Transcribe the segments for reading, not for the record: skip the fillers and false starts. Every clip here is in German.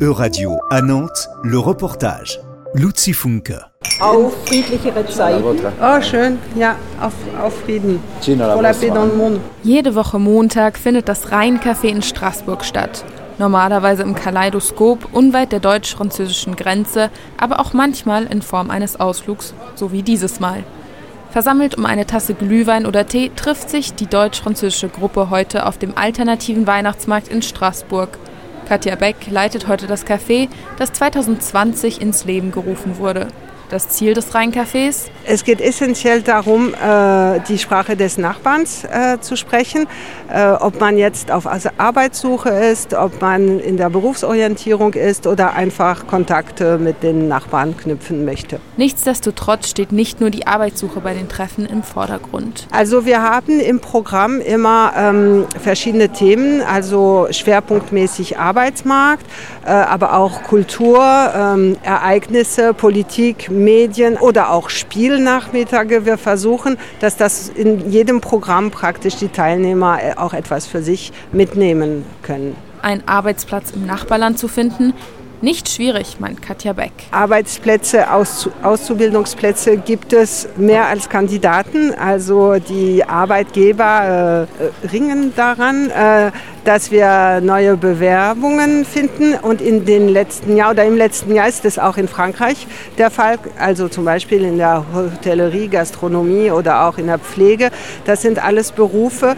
Euradio à Nantes, le reportage. Luzi Funke. Auf friedlichere Zeiten. Oh, schön. Ja, auf Frieden. Pour la paix dans le monde. Jede Woche Montag findet das Rheincafé in Straßburg statt. Normalerweise im Kaleidoskop, unweit der deutsch-französischen Grenze, aber auch manchmal in Form eines Ausflugs, so wie dieses Mal. Versammelt um eine Tasse Glühwein oder Tee trifft sich die deutsch-französische Gruppe heute auf dem alternativen Weihnachtsmarkt in Straßburg. Katja Beck leitet heute das Café, das 2020 ins Leben gerufen wurde. Das Ziel des Rheincafés? Es geht essentiell darum, die Sprache des Nachbarns zu sprechen. Ob man jetzt auf Arbeitssuche ist, ob man in der Berufsorientierung ist oder einfach Kontakte mit den Nachbarn knüpfen möchte. Nichtsdestotrotz steht nicht nur die Arbeitssuche bei den Treffen im Vordergrund. Also wir haben im Programm immer verschiedene Themen, also schwerpunktmäßig Arbeitsmarkt, aber auch Kultur, Ereignisse, Politik, Medien oder auch Spielnachmittage. Wir versuchen, dass das in jedem Programm praktisch die Teilnehmer auch etwas für sich mitnehmen können. Einen Arbeitsplatz im Nachbarland zu finden, nicht schwierig, meint Katja Beck. Arbeitsplätze, Auszubildungsplätze gibt es mehr als Kandidaten. Also die Arbeitgeber ringen daran, dass wir neue Bewerbungen finden. Und im letzten Jahr ist es auch in Frankreich der Fall. Also zum Beispiel in der Hotellerie, Gastronomie oder auch in der Pflege. Das sind alles Berufe,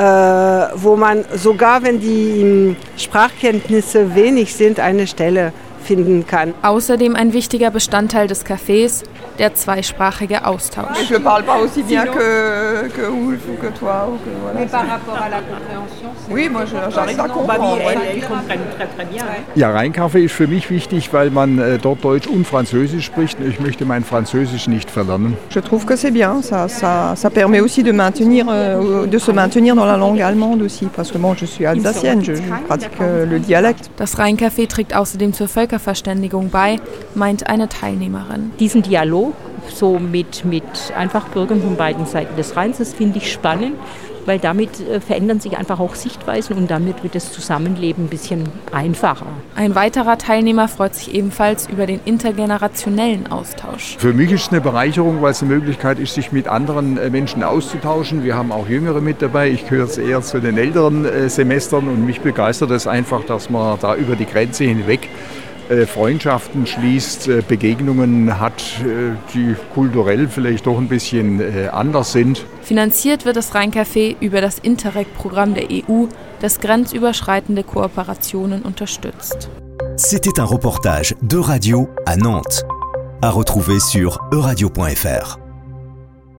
wo man sogar, wenn die Sprachkenntnisse wenig sind, eine Stelle finden kann. Außerdem ein wichtiger Bestandteil des Cafés, der zweisprachige Austausch. Je parle pas aussi bien que Ulf ou que toi. Ou que, voilà. Mais par rapport à la compréhension, oui, moi j'arrive à comprendre. Elles comprennent très très bien. Ja, Rheincafé ist für mich wichtig, weil man dort Deutsch und Französisch spricht. Ich möchte mein Französisch nicht verlernen. Je trouve que c'est bien, ça permet aussi de se maintenir dans la langue allemande aussi, parce que moi je suis alsacienne, je pratique le dialecte. Das Rheincafé trägt außerdem zur Völkerverständigung bei, meint eine Teilnehmerin. Diesen Dialog so mit einfach Bürgern von beiden Seiten des Rheins, das finde ich spannend, weil damit verändern sich einfach auch Sichtweisen und damit wird das Zusammenleben ein bisschen einfacher. Ein weiterer Teilnehmer freut sich ebenfalls über den intergenerationellen Austausch. Für mich ist es eine Bereicherung, weil es eine Möglichkeit ist, sich mit anderen Menschen auszutauschen. Wir haben auch Jüngere mit dabei. Ich gehöre jetzt eher zu den älteren Semestern und mich begeistert es einfach, dass man da über die Grenze hinweg Freundschaften schließt, Begegnungen hat, die kulturell vielleicht doch ein bisschen anders sind. Finanziert wird das Rheincafé über das Interreg-Programm der EU, das grenzüberschreitende Kooperationen unterstützt. C'était un reportage d'Euradio à Nantes. À retrouver sur euradio.fr.